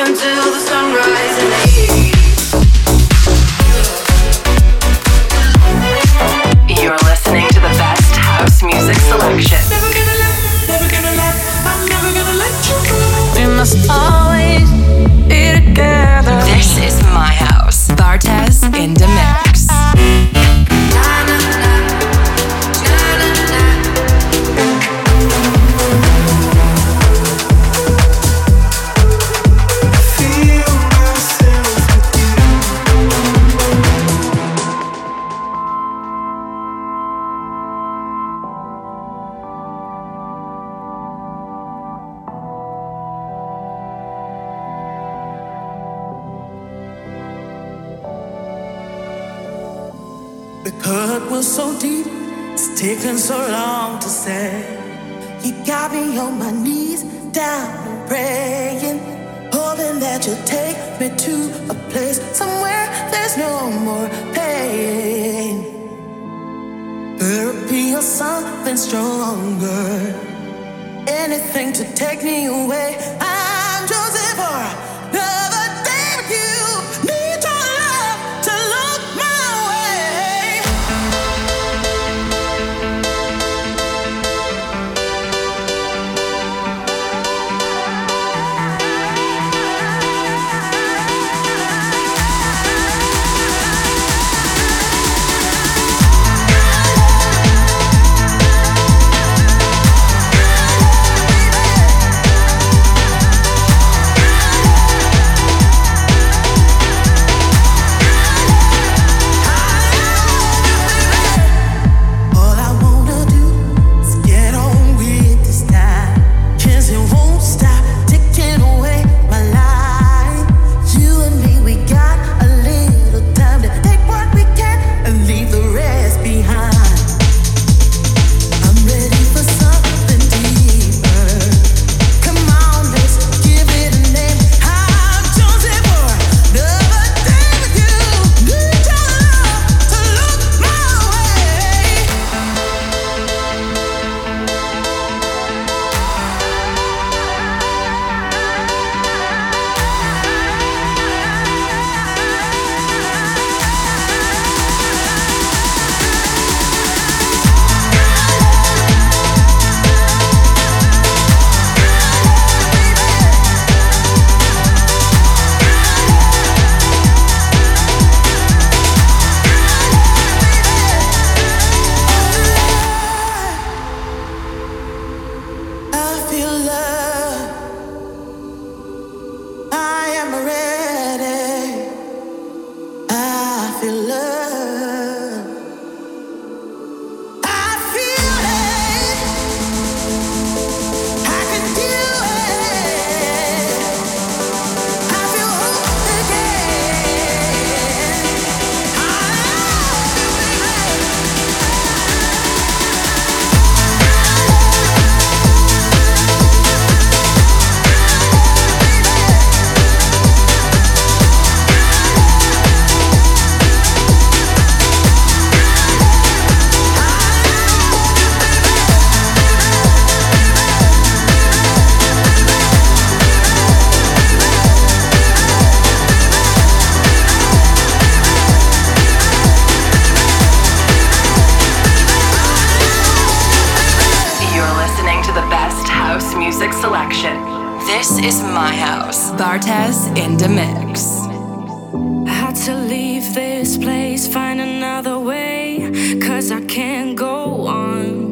until the sunrise in the You're listening to the best house music selection. Never gonna let, I'm never gonna let you go. We must always be together. This is my house. Bartez in the mix. The cut was so deep, it's taken so long to say. You got me on my knees, down and praying, hoping that you'll take me to a place somewhere there's no more pain. Therapy or something stronger, anything to take me away. I'm choosing for another day with you. Need your love to look my way. This is my house. Bartez in the mix. I had to leave this place, find another way, 'cause I can't go on.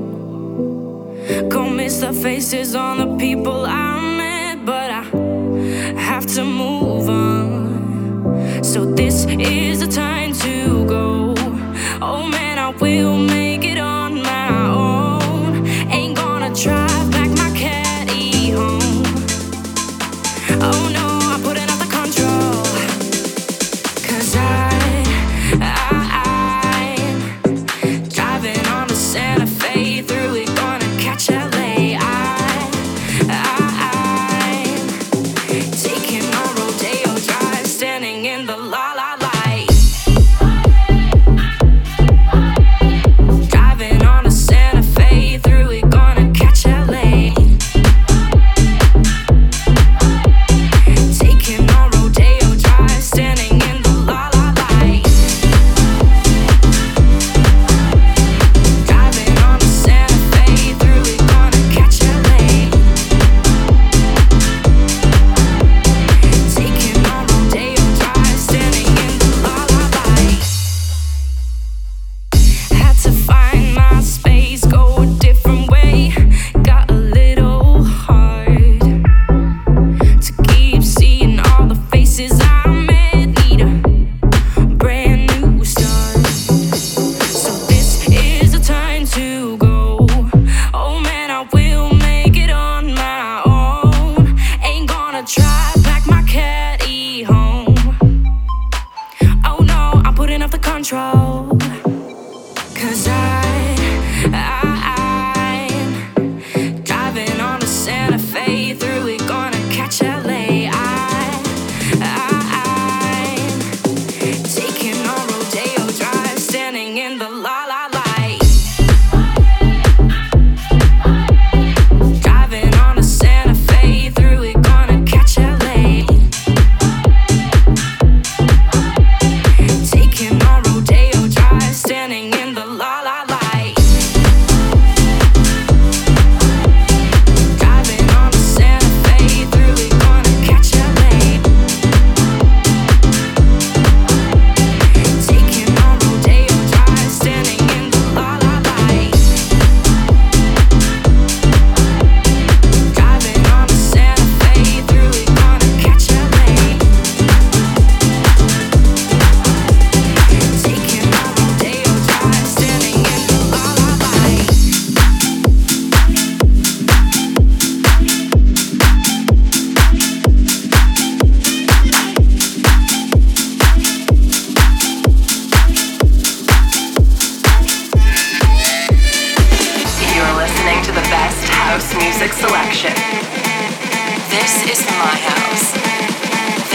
Go miss the faces on the people I met, but I have to move on. So this is the time to go. Oh man, I will make it on my own. Ain't gonna drive back my caddy home. Oh no, I'm putting out the control. 'Cause I'm driving on the Santa Fe, through it gonna catch LA. I'm taking a rodeo drive, standing in the la la light.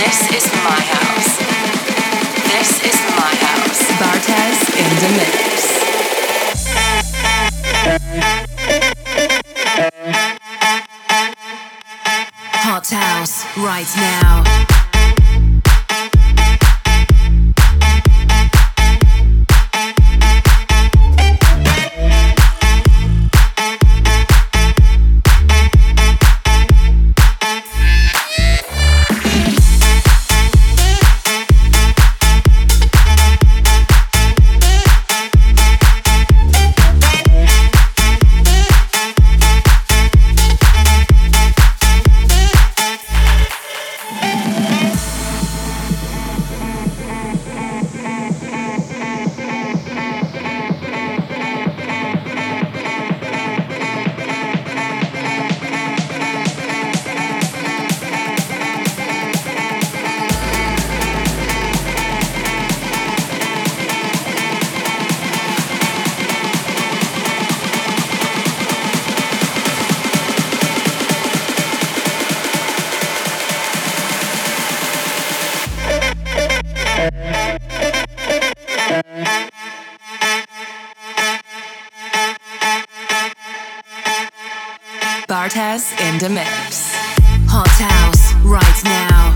This is my house. This is my house. Bartez in the mix. Hot house right now. Bartez in the mix. Hot house right now.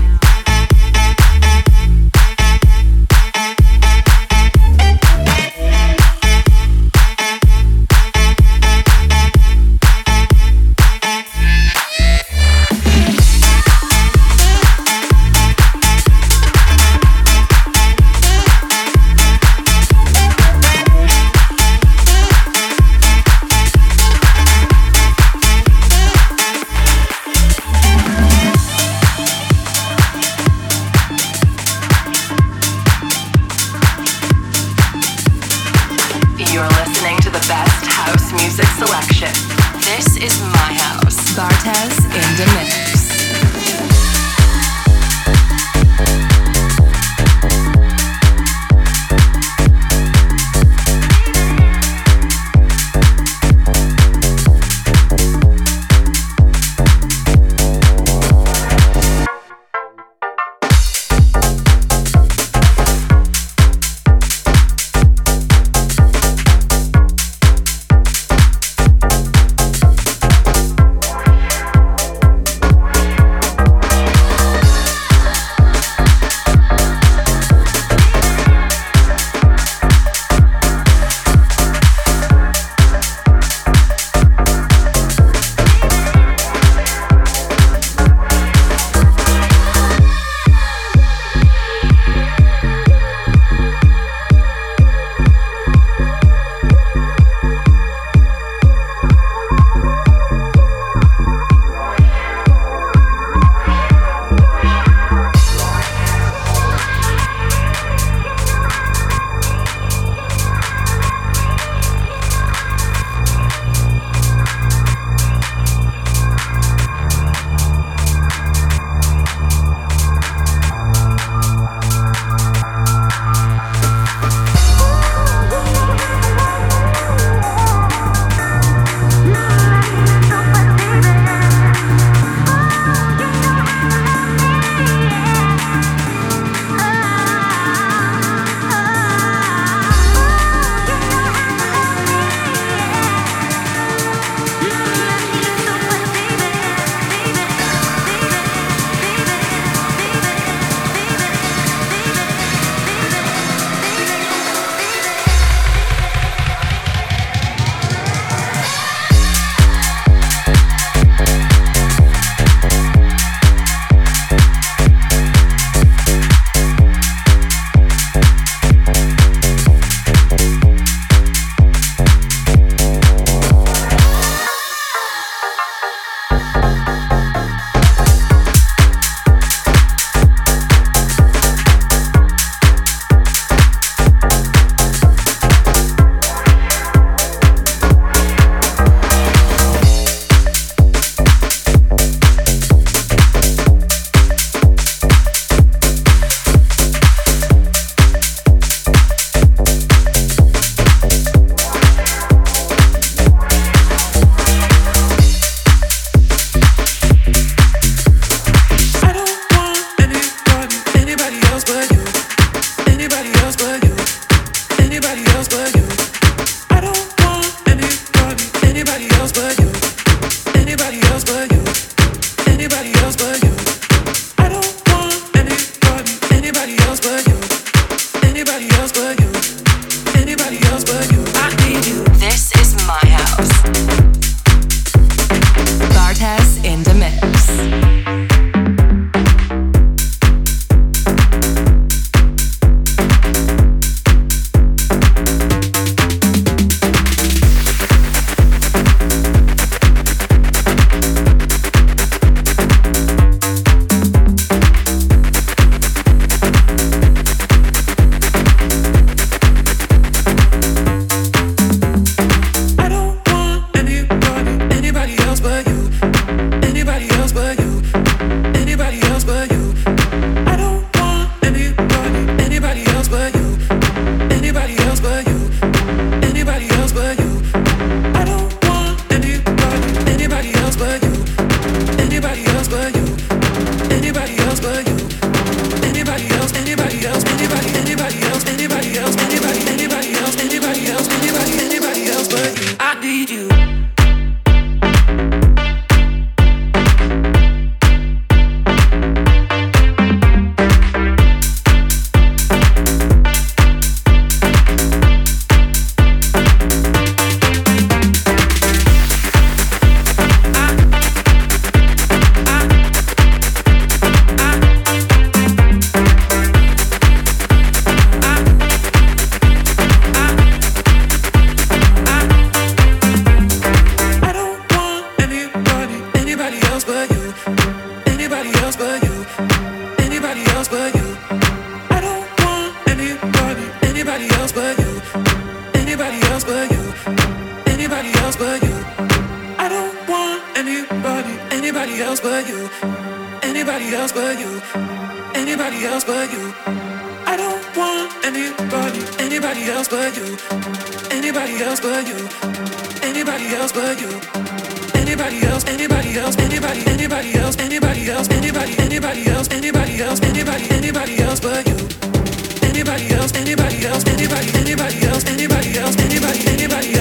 anybody else but you. I don't want anybody else but you. Anybody else but you. Anybody else but you. Anybody else, anybody else, anybody else, anybody else, anybody else, anybody else, anybody else but you. Anybody else, anybody else, anybody else, anybody else, anybody else, anybody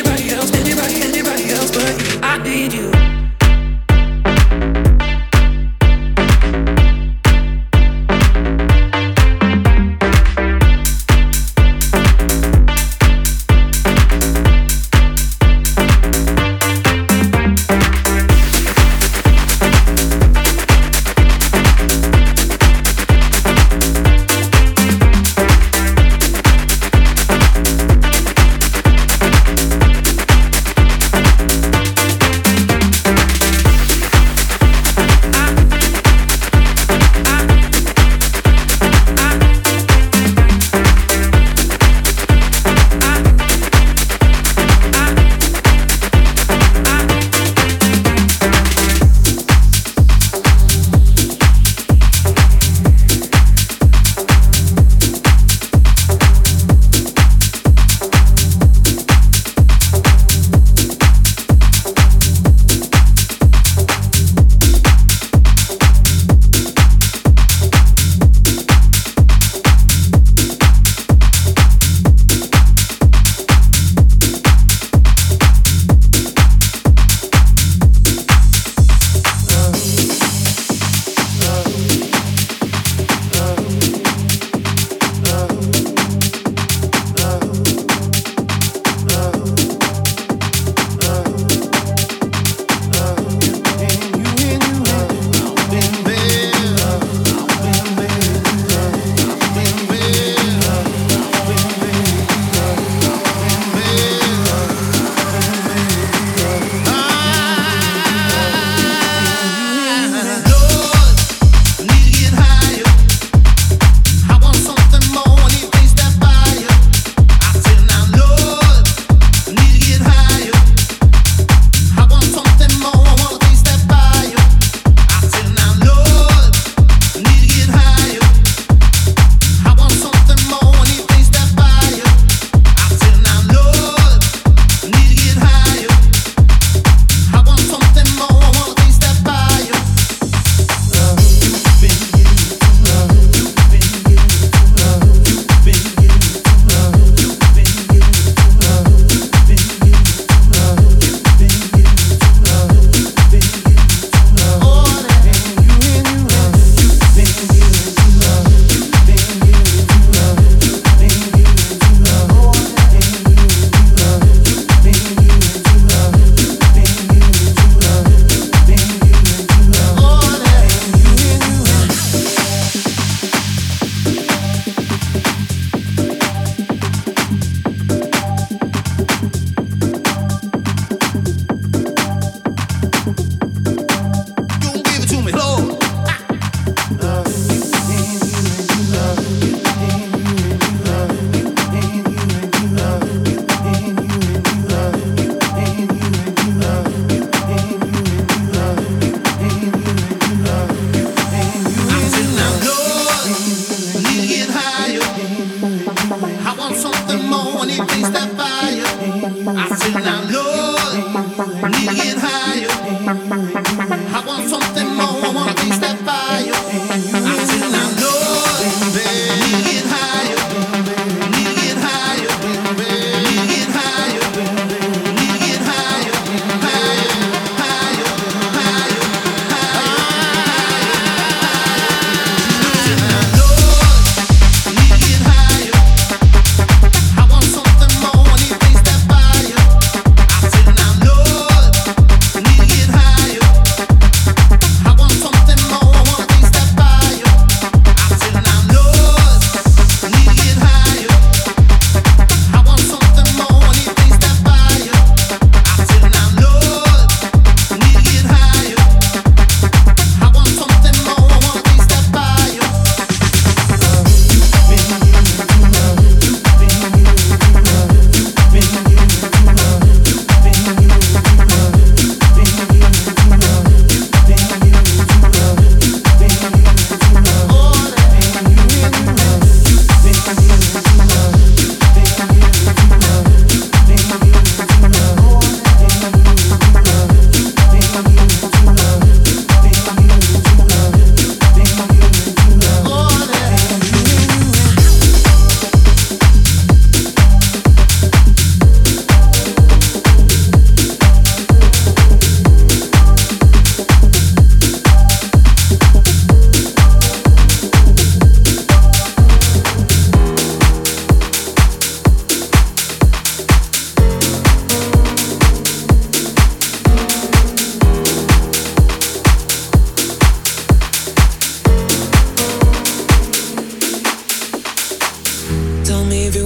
else but you. I need you.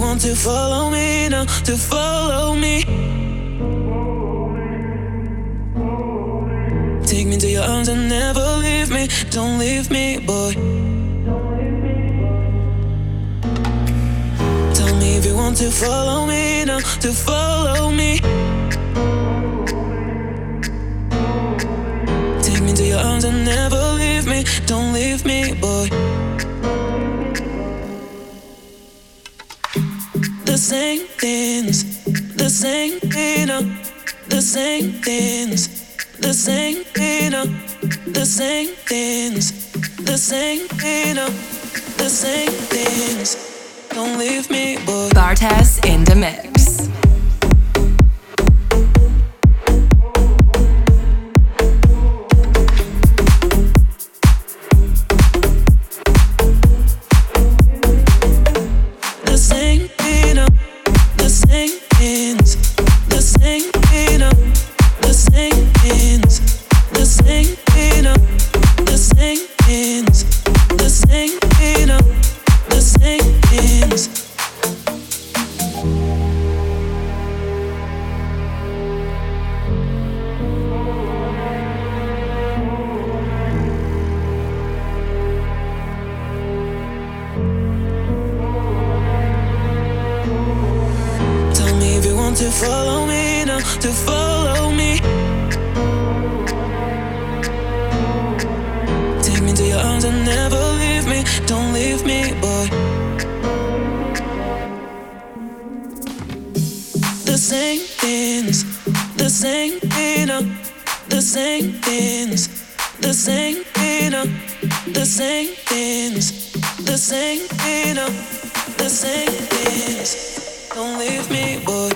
want to follow me now, to follow me. Take me to your arms and never leave me. Don't leave me, boy. Tell me if you want to follow me now, to follow me. Take me to your arms and never leave me. Don't leave me, boy. The same things, the same thing, the same things, the same thing, the same things, the same thing, the same things. Don't leave me, boy. Bartez in the mix. To follow me now, to follow me. Take me to your arms and never leave me. Don't leave me, boy. The same things, the same thing, the same things, the same thing, the same things, the same thing, the same things. Don't leave me, boy.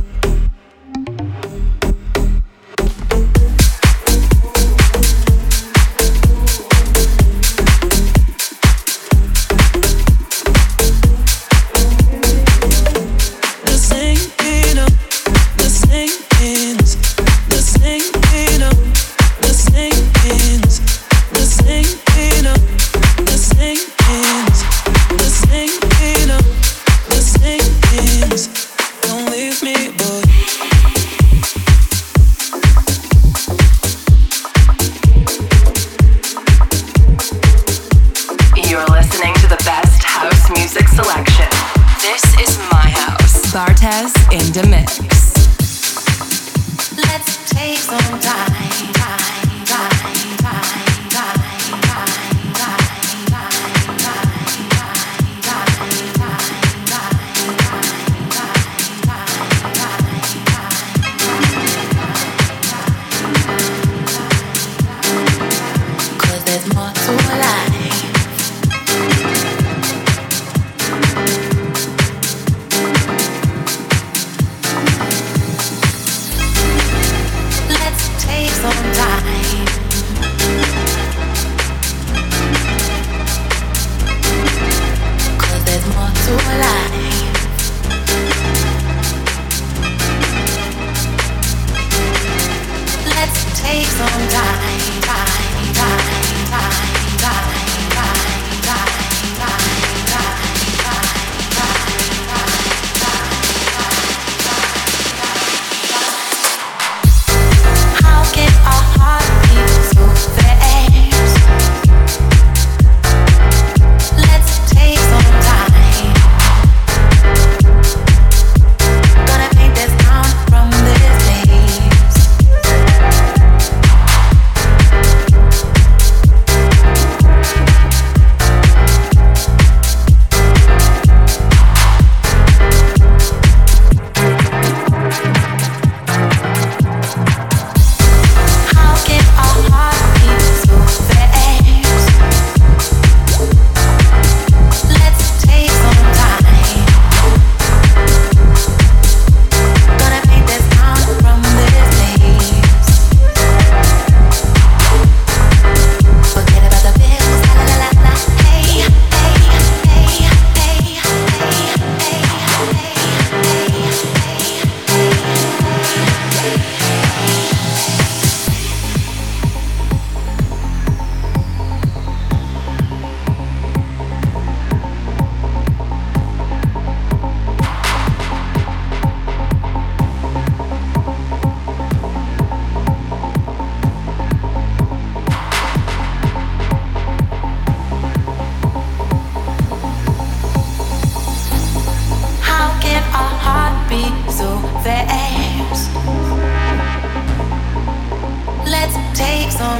Bartez in the mix. Let's take some time.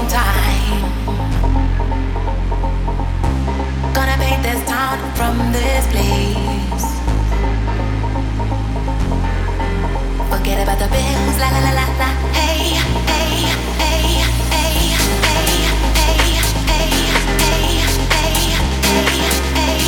time. Gonna paint this town from this place. Forget about the bills, la la la la la. Hey, hey, hey, hey, hey, hey, hey, hey, hey, hey,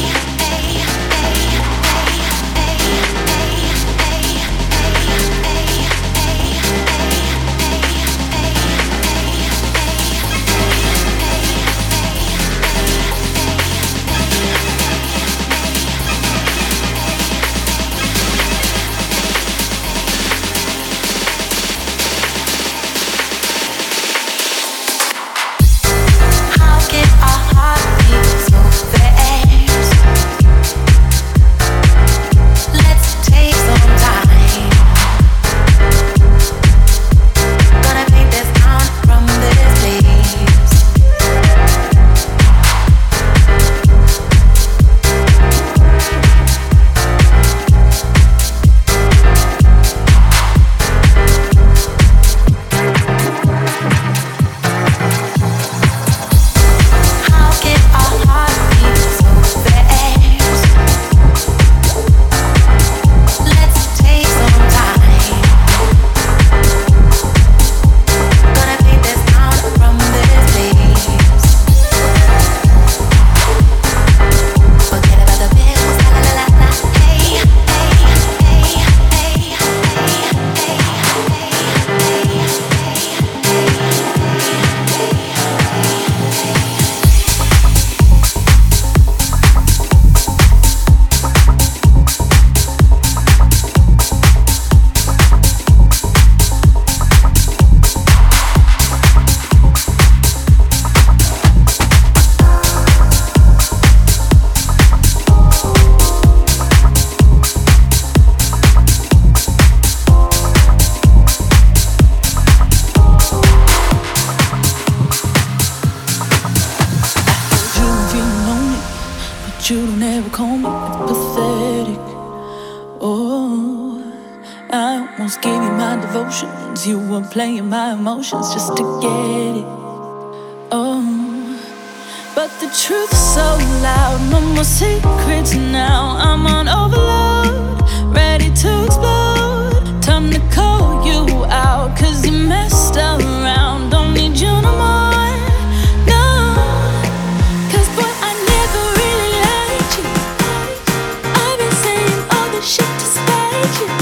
You were playing my emotions just to get it. Oh, but the truth's so loud, no more secrets now. I'm on overload, ready to explode. Time to call you out, 'cause you messed around. Don't need you no more, no. 'Cause boy, I never really liked you. I've been saying all this shit to spite you.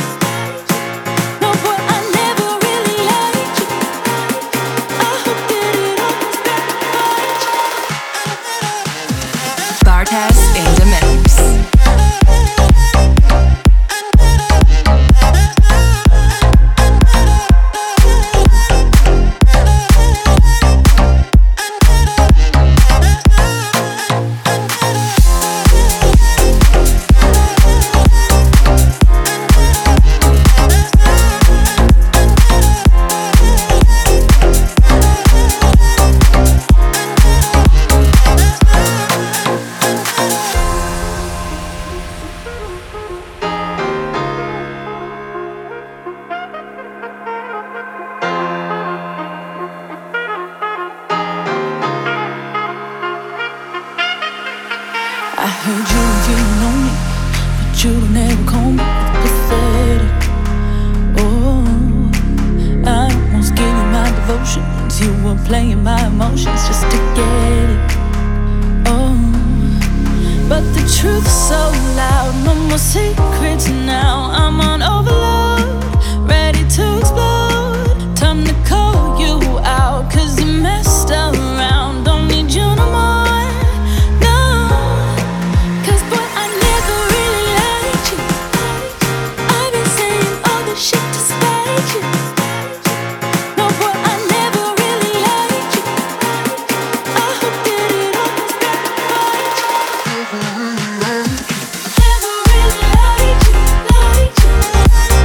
Bartez in the mix. I heard you were feeling lonely, but you don't ever call me. It's pathetic. Oh, I almost gave you my devotions. You were playing my emotions just to get it. Oh, but the truth's so loud, no more secrets now. I'm on overload, ready to explode. Time to call you out, 'cause you messed around. Don't need you no more. Shit to spite you. No, boy, I never really liked you. I hope that it always backfired you. Never really liked you, liked you.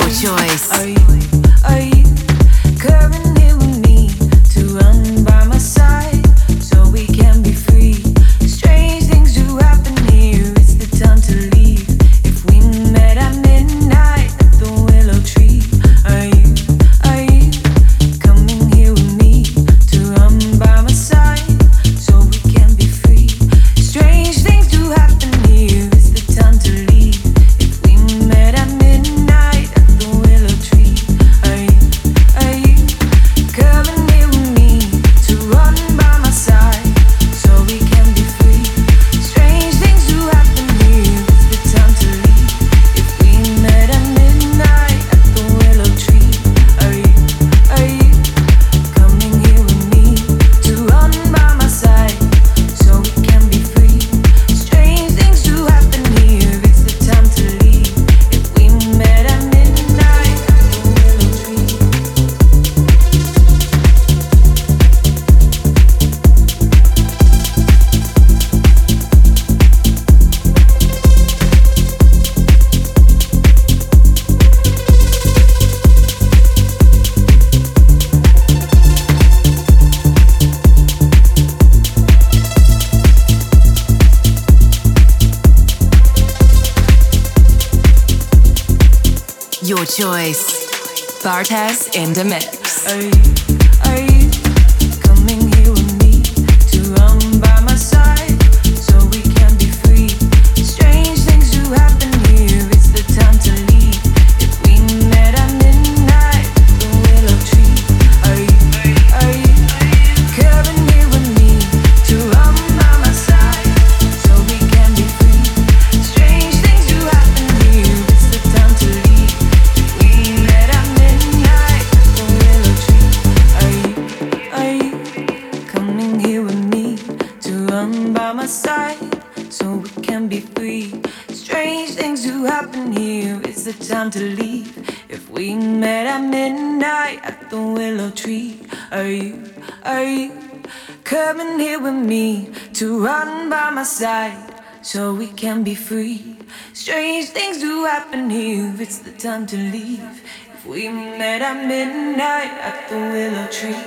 Your choice. Are you coming here with me to run by my side so we can be free? Strange things do happen here. It's the time to leave. If we met at midnight at the willow tree, are you coming here with me to run by my side so we can be free? Strange things do happen here. It's the time to leave. If we met at midnight at the willow tree, are you coming here with me to run by my side so we can be free? Strange things do happen here. It's the time to leave. If we met at midnight at the willow tree, are you coming here with me to run by my side so we can be free? Strange things do happen here. It's the time to leave. If we met at midnight at the willow tree. Your choice. Bartez in the mix. Are you coming here with me to run by my side so we can be free? Strange things do happen here. It's the time to leave. If we met at midnight at the willow tree, are you coming here with me to run by my side so we can be free? Strange things do happen here. It's the time to leave. If we met at midnight at the willow tree, are you coming here with me to run by my side so we can be free? Strange things do happen here. It's the time to leave. If we met at midnight at the willow tree, are you coming here with me to run by my side so we can be free? Strange things do happen here. It's the time to leave. If we met at midnight at the willow tree,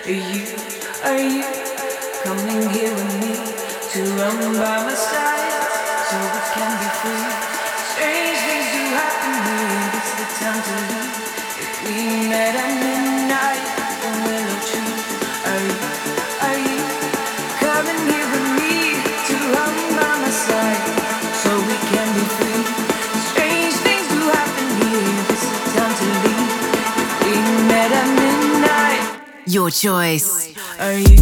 are you coming here with me to run by my side so we can be free? Strange things do happen here. It's the time to leave. If we met at midnight at the willow tree, are you coming here with me to run by my side so we can be free? Strange things do happen here. It's the time to leave. If we met at midnight. Your choice. Are you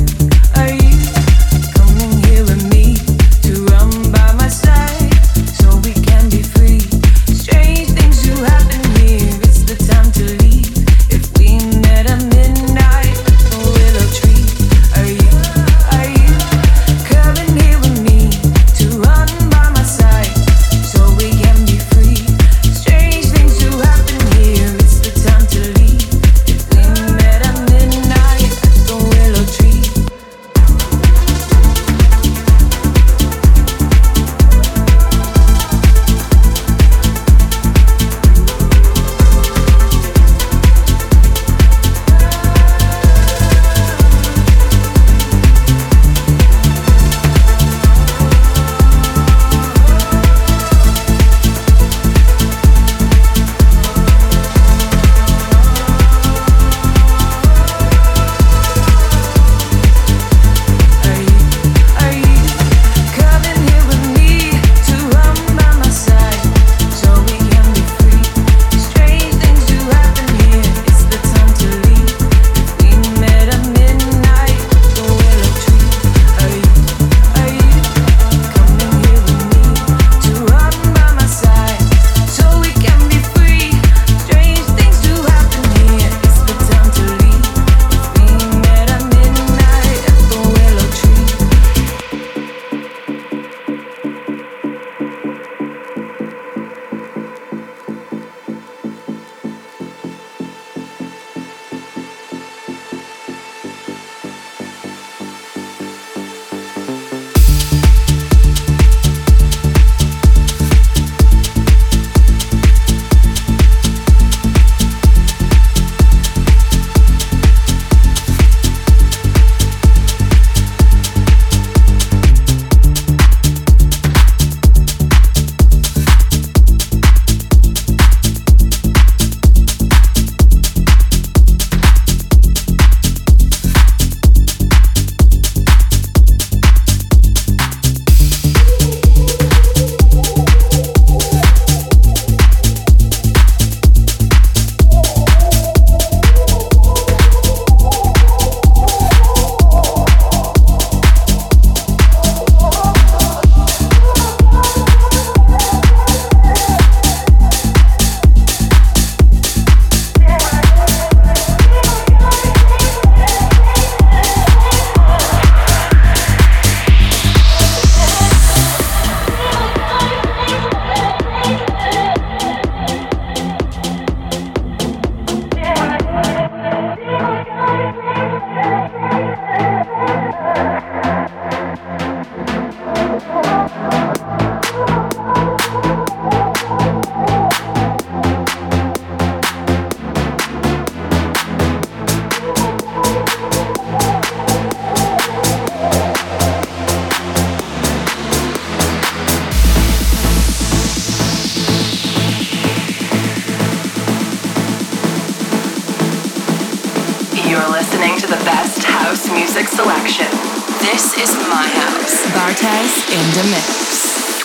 coming here with me to run by my side so we can be free? Strange things do happen here. It's the time to leave. If we met at midnight at the willow tree, are you coming here with me to run by my side so we can be free? Strange things do happen here. It's the time to leave. If we met at midnight at the willow tree, the best house music selection. This is my house. Bartez in the mix.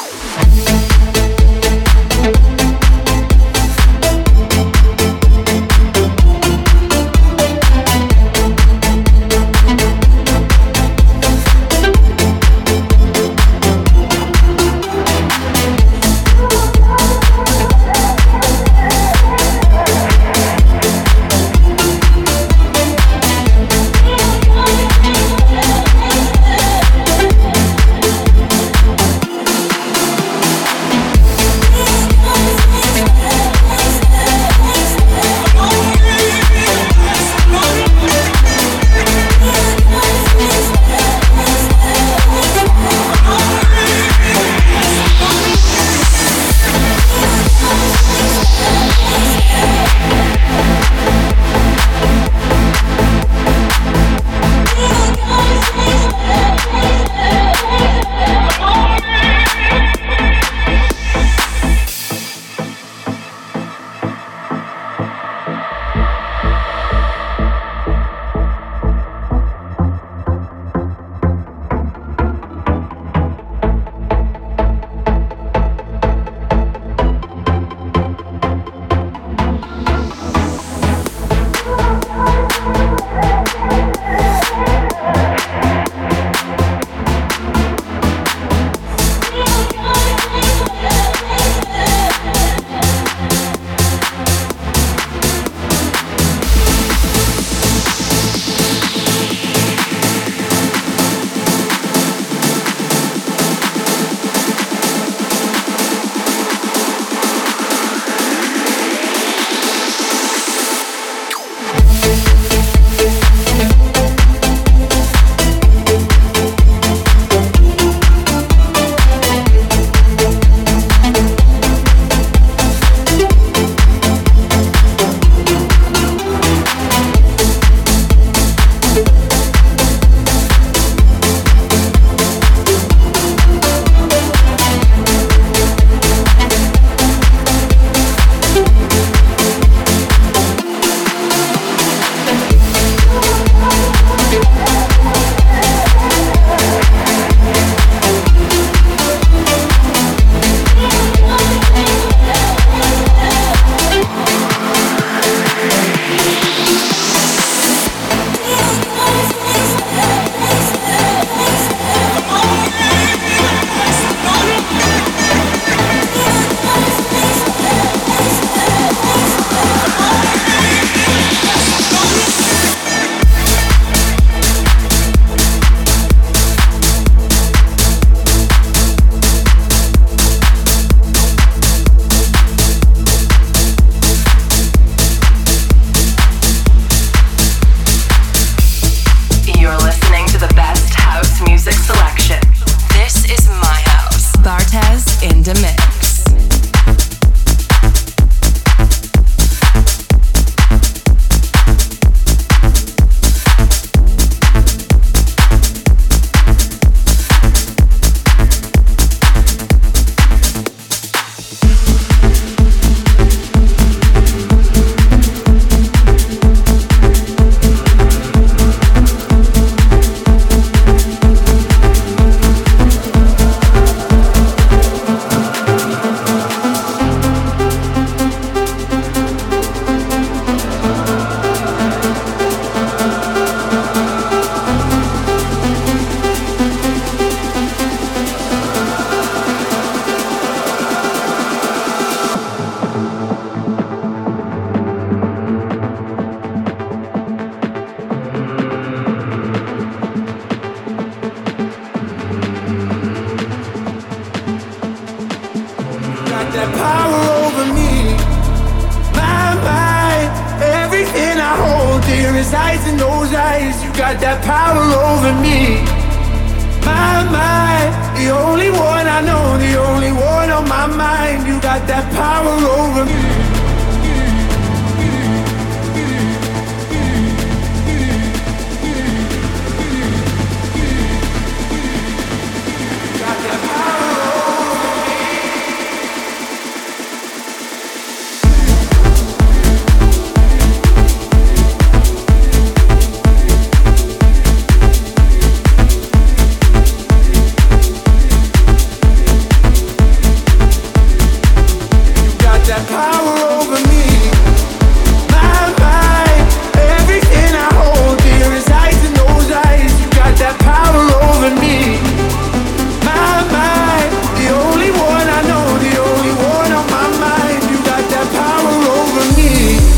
resides in those eyes. You got that power over me. My, the only one I know, the only one on my mind. You got that power over me. power over me. My mind, everything I hold dear resides in those eyes. You got that power over me. My mind, the only one I know, the only one on my mind. You got that power over me.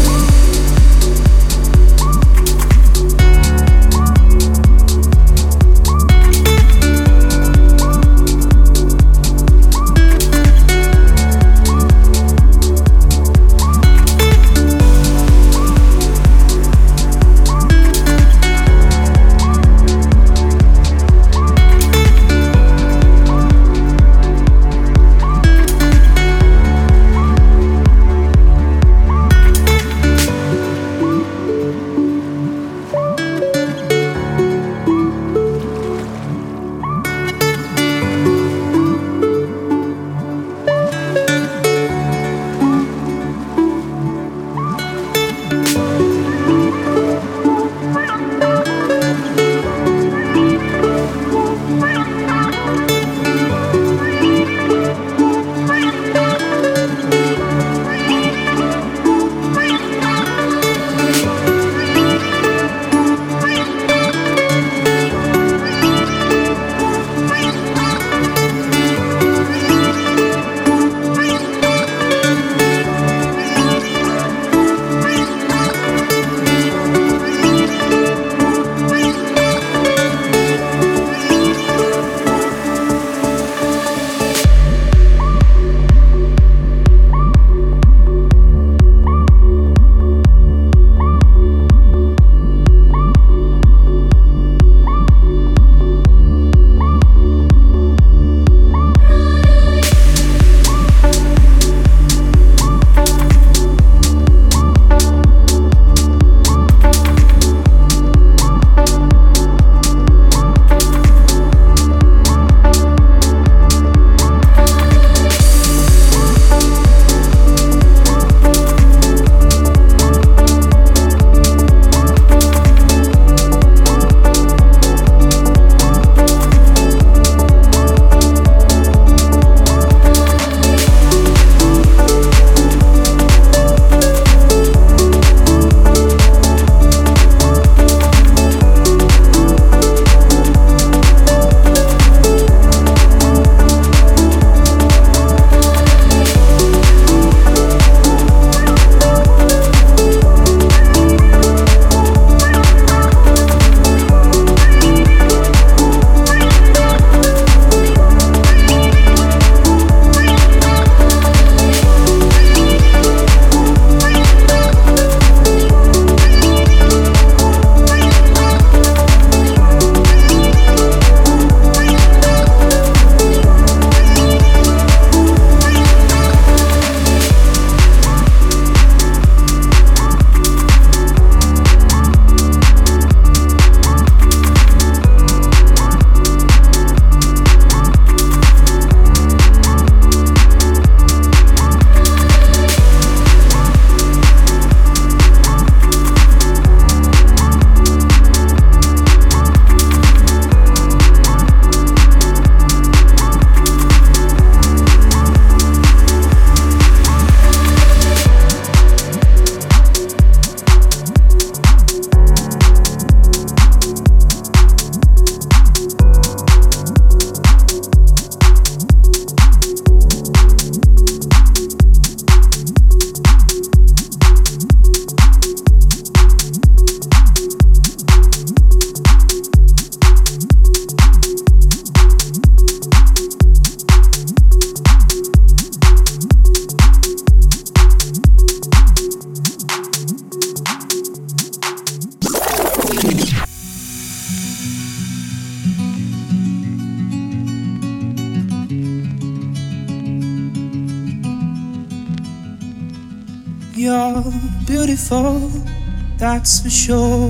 You're beautiful, that's for sure.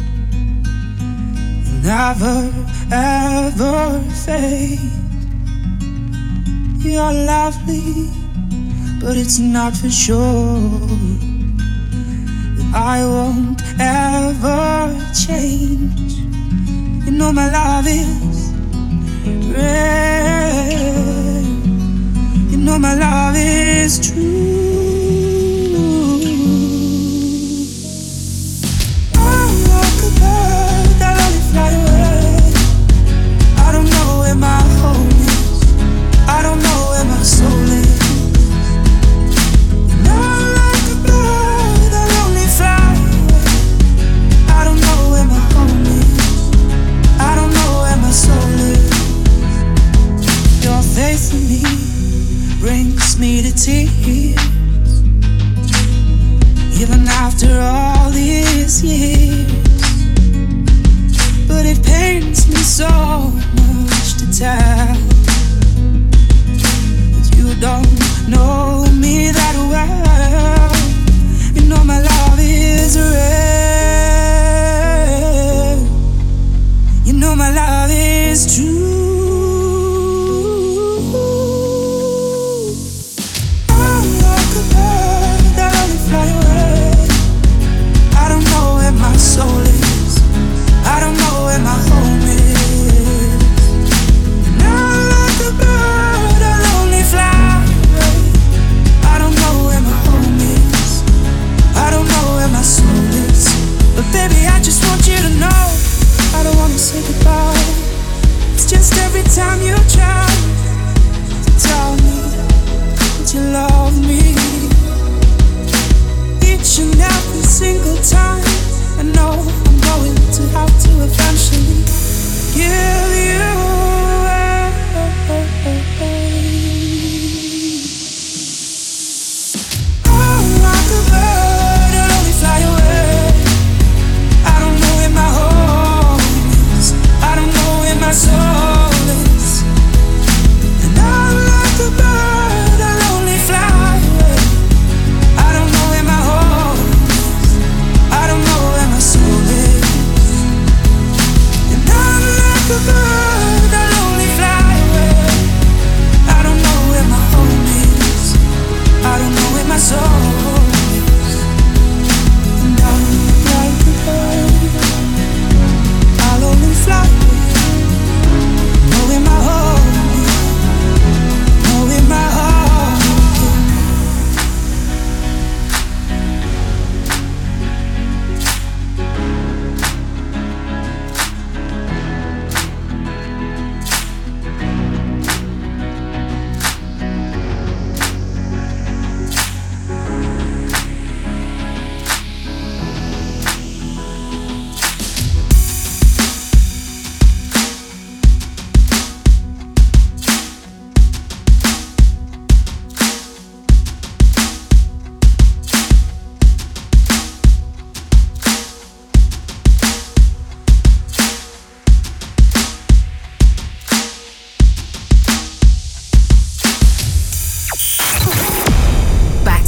You'll never, ever fade. You're lovely, but it's not for sure that I won't ever change. You know my love is real. You know my love is true.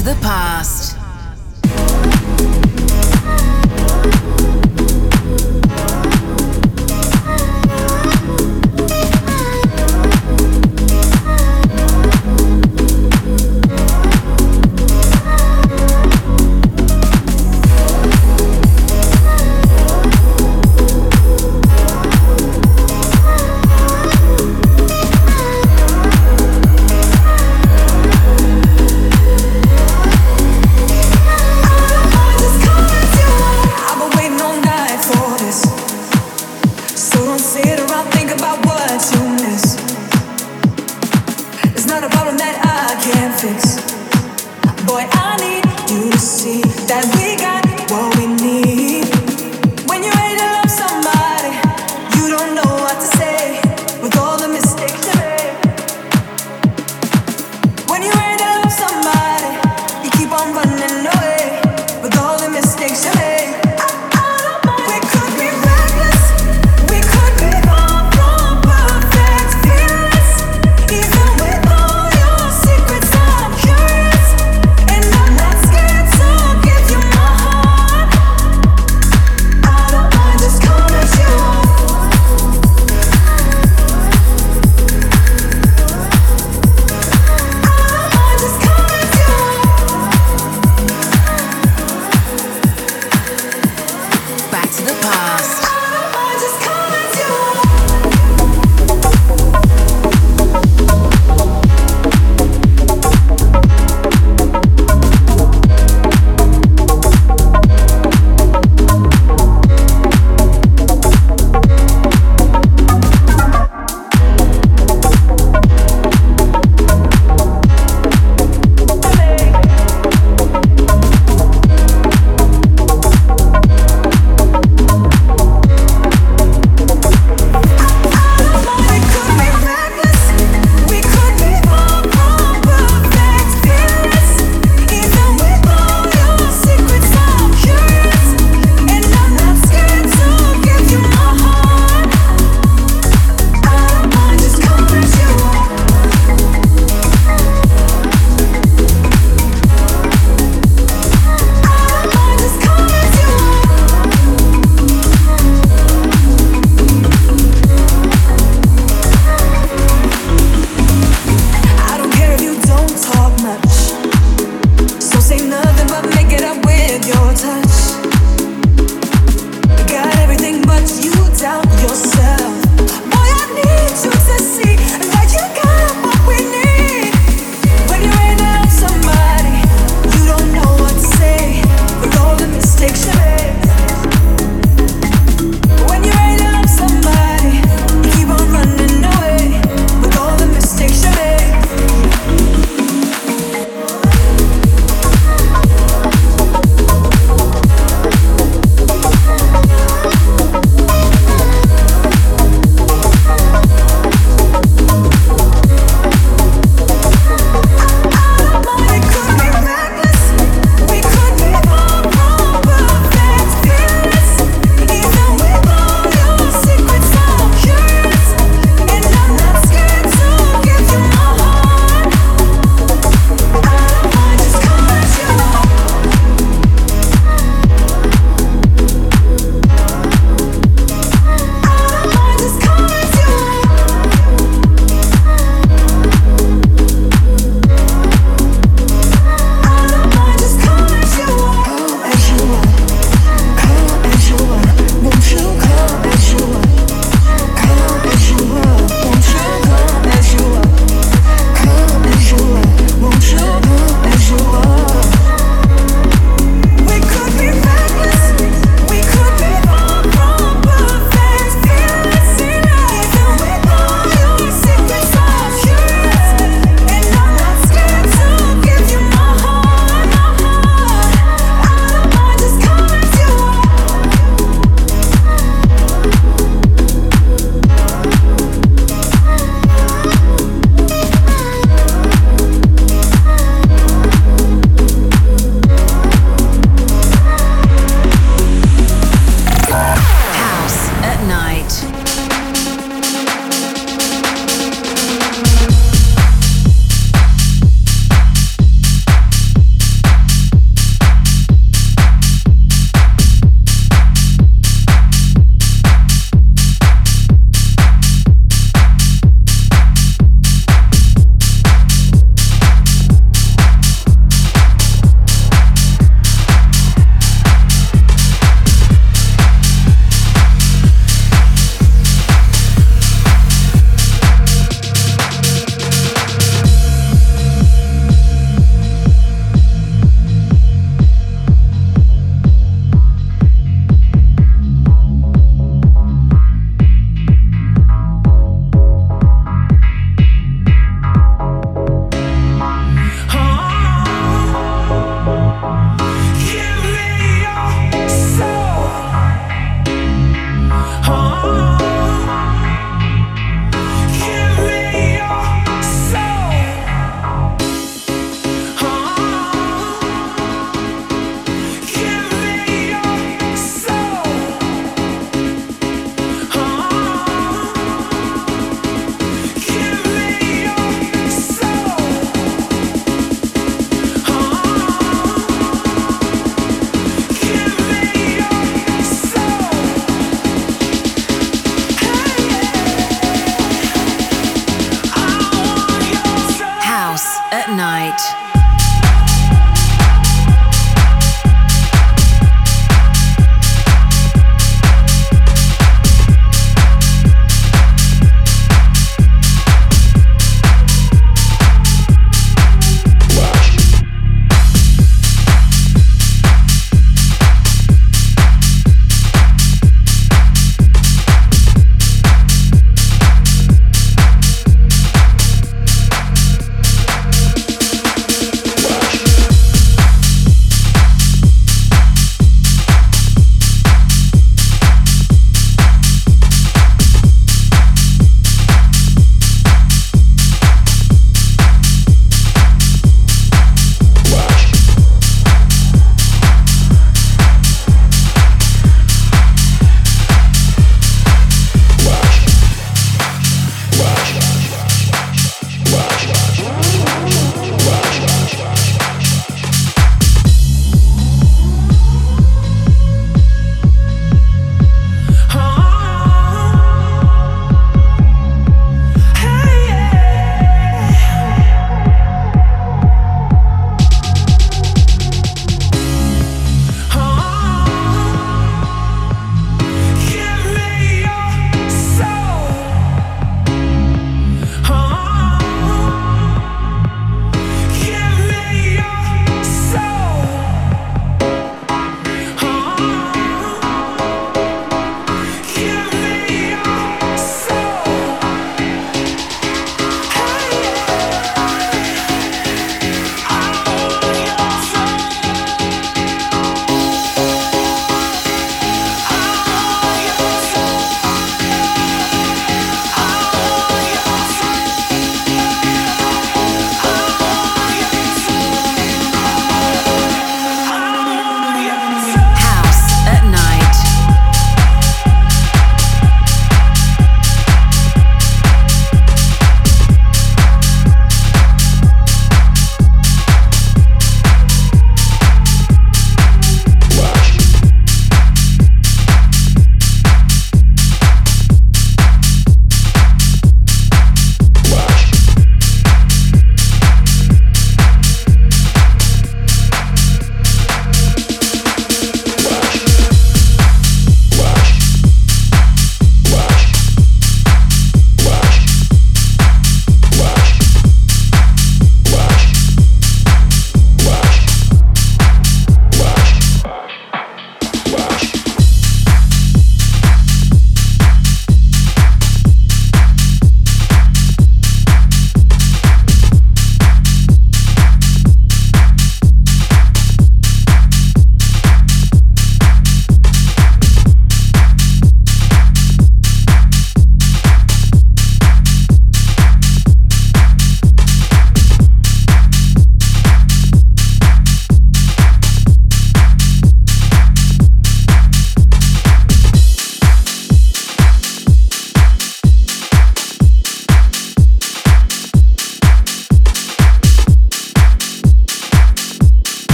to the past. Say nothing but make it up with your touch.